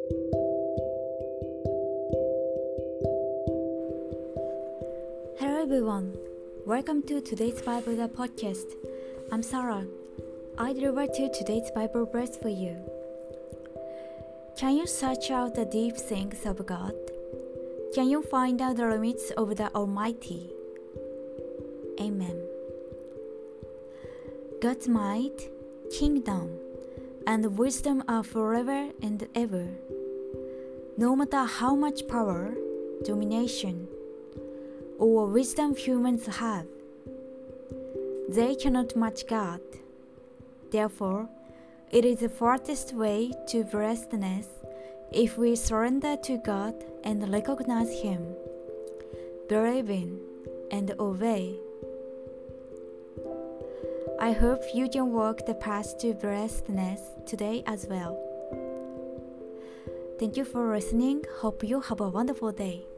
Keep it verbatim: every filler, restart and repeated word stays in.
Hello everyone, welcome to today's Bible podcast. I'm Sarah. I deliver to today's Bible verse for you. Can you search out the deep things of God? Can you find out the limits of the Almighty? Amen. God's might, kingdom, and wisdom are forever and ever. No matter how much power, domination, or wisdom humans have, they cannot match God. Therefore, it is the farthest way to blessedness if we surrender to God and recognize Him, believe in, and obey. I hope you can walk the path to blessedness today as well. Thank you for listening. Hope you have a wonderful day.